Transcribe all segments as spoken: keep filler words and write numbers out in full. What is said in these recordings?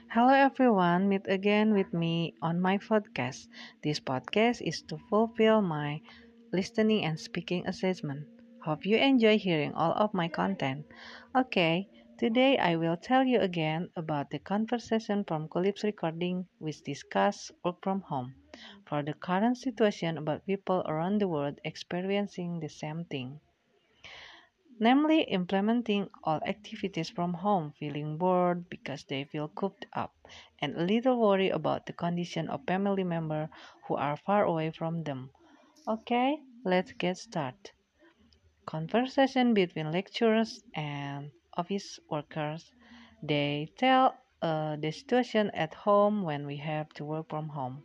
Hello everyone, meet again with me on my podcast. This podcast is to fulfill my listening and speaking assessment. Hope you enjoy hearing all of my content. Okay, today I will tell you again about the conversation from Collapse Recording which discuss work from home. For the current situation about people around the world experiencing the same thing. Namely, implementing all activities from home, feeling bored because they feel cooped up, and a little worry about the condition of family members who are far away from them. Okay, let's get started. Conversation between lecturers and office workers. They tell uh, the situation at home when we have to work from home.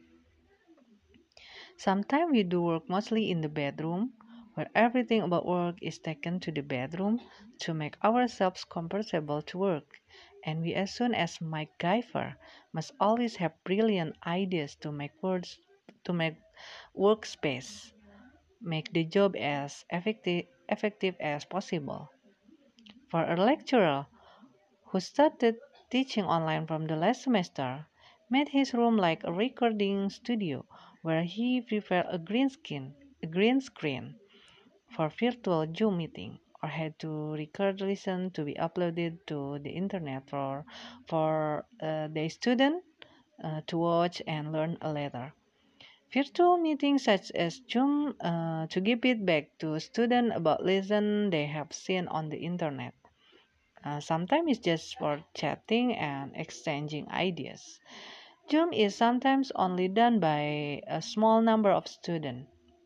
Sometimes we do work mostly in the bedroom, where everything about work is taken to the bedroom to make ourselves comfortable to work. And we, as soon as MacGyver, must always have brilliant ideas to make words to make workspace, make the job as effective effective as possible. For a lecturer who started teaching online from the last semester, made his room like a recording studio where he prepared a green screen, a green screen for virtual Zoom meeting or had to record listen to be uploaded to the internet for for uh, the student uh, to watch and learn a later. Virtual meetings such as Zoom uh, to give feedback to students about lesson they have seen on the internet. Uh, sometimes it's just for chatting and exchanging ideas. Zoom is sometimes only done by a small number of students,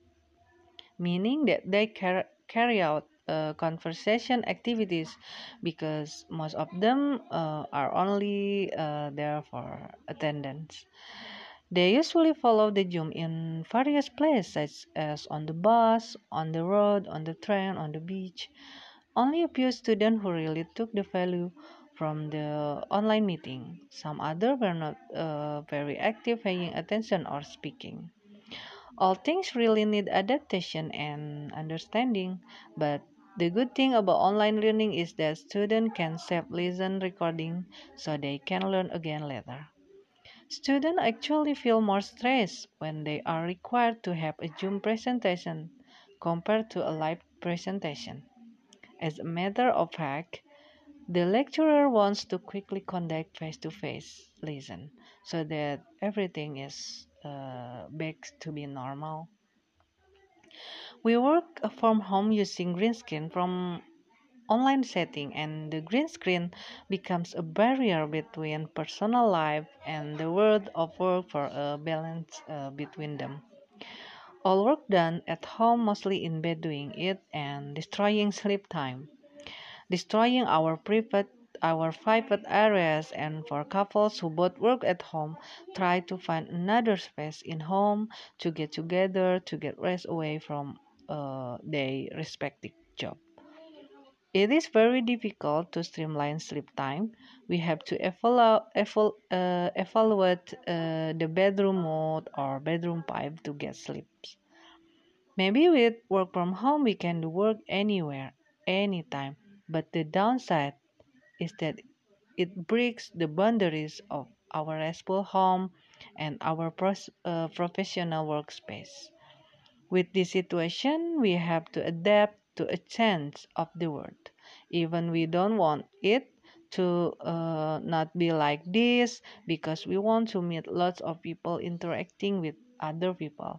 meaning that they car- carry out uh, conversation activities because most of them uh, are only uh, there for attendance. They usually follow the Zoom in various places, such as on the bus, on the road, on the train, on the beach. Only a few students who really took the value from the online meeting. Some others were not uh, very active paying attention or speaking. All things really need adaptation and understanding, but the good thing about online learning is that students can save listen recording so they can learn again later. Students actually feel more stressed when they are required to have a Zoom presentation compared to a live presentation. As a matter of fact, the lecturer wants to quickly conduct face-to-face lesson so that everything is uh, back to be normal. We work from home using green screen from online setting, and the green screen becomes a barrier between personal life and the world of work for a balance uh, between them. All work done at home, mostly in bed doing it and destroying sleep time, destroying our private our private areas, and for couples who both work at home try to find another space in home to get together to get rest away from uh, their respective job. It is very difficult to streamline sleep time. We have to evalu- eval- uh, evaluate uh, the bedroom mode or bedroom pipe to get sleep. Maybe with work from home we can do work anywhere, anytime. But the downside is that it breaks the boundaries of our restful home and our pros- uh, professional workspace. With this situation, we have to adapt to a change of the world. Even we don't want it to uh, not be like this because we want to meet lots of people interacting with other people.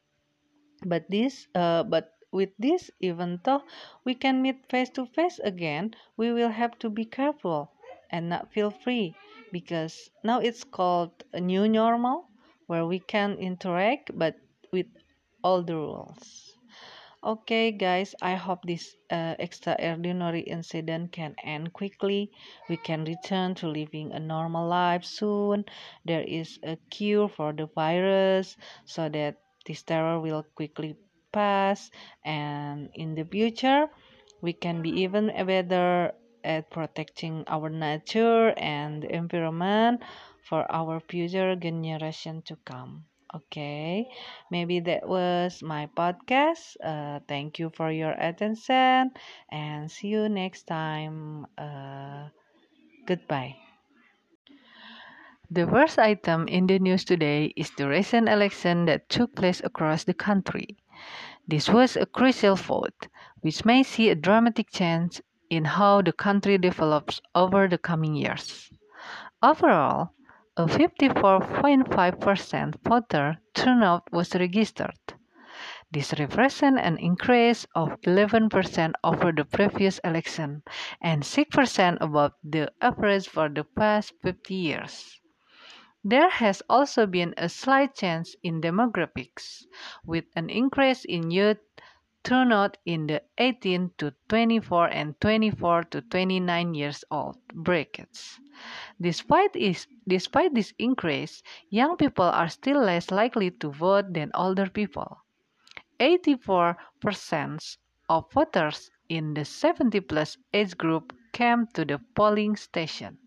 But this, uh, but with this, even though we can meet face to face again, we will have to be careful and not feel free because now it's called a new normal where we can interact but with all the rules. Okay, guys, I hope this uh, extraordinary incident can end quickly. We can return to living a normal life soon. There is a cure for the virus so that this terror will quickly pass. And in the future, we can be even better at protecting our nature and the environment for our future generation to come. Okay, maybe that was my podcast. Uh, thank you for your attention and see you next time. Uh, goodbye. The first item in the news today is the recent election that took place across the country. This was a crucial vote, which may see a dramatic change in how the country develops over the coming years. Overall, a fifty-four point five percent voter turnout was registered. This represents an increase of eleven percent over the previous election and six percent above the average for the past fifty years. There has also been a slight change in demographics, with an increase in youth turnout in the eighteen to twenty-four and twenty-four to twenty-nine years old brackets. Despite this, despite this increase, young people are still less likely to vote than older people. eighty-four percent of voters in the seventy plus age group came to the polling station.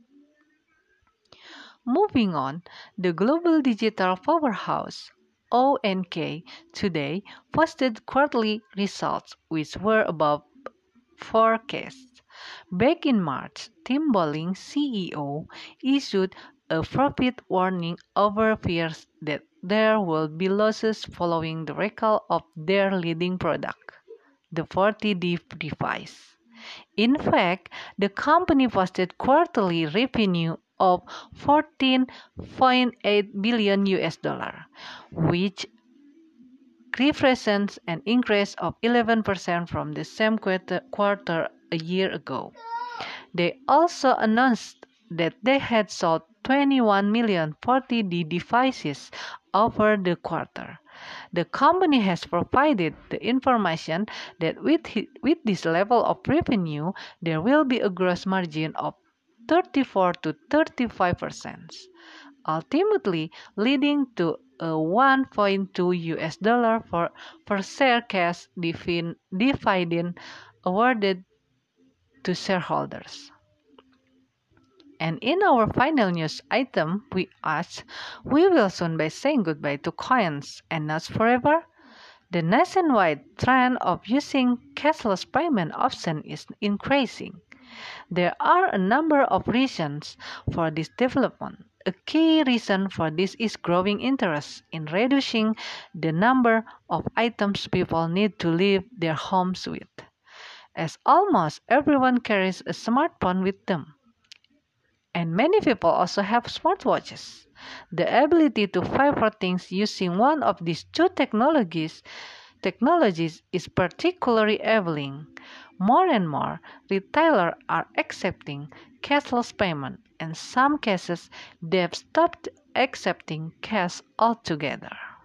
Moving on, the global digital powerhouse O N K today posted quarterly results which were above forecasts. Back in March, Tim Bolling, C E O, issued a profit warning over fears that there will be losses following the recall of their leading product, the forty D device. In fact, the company posted quarterly revenue of fourteen point eight billion U S dollar, which represents an increase of eleven percent from the same quarter, quarter a year ago. They also announced that they had sold twenty-one million forty D devices over the quarter. The company has provided the information that with, with this level of revenue, there will be a gross margin of thirty-four to thirty-five percent, ultimately leading to a one point two U S dollar for per share cash dividend awarded to shareholders. And in our final news item, we ask, we will soon be saying goodbye to coins and not forever? The nationwide trend of using cashless payment option is increasing. There are a number of reasons for this development. A key reason for this is growing interest in reducing the number of items people need to leave their homes with, as almost everyone carries a smartphone with them. And many people also have smartwatches. The ability to pay for things using one of these two technologies technologies is particularly enabling. More and more retailers are accepting cashless payment. In some cases, they've stopped accepting cash altogether.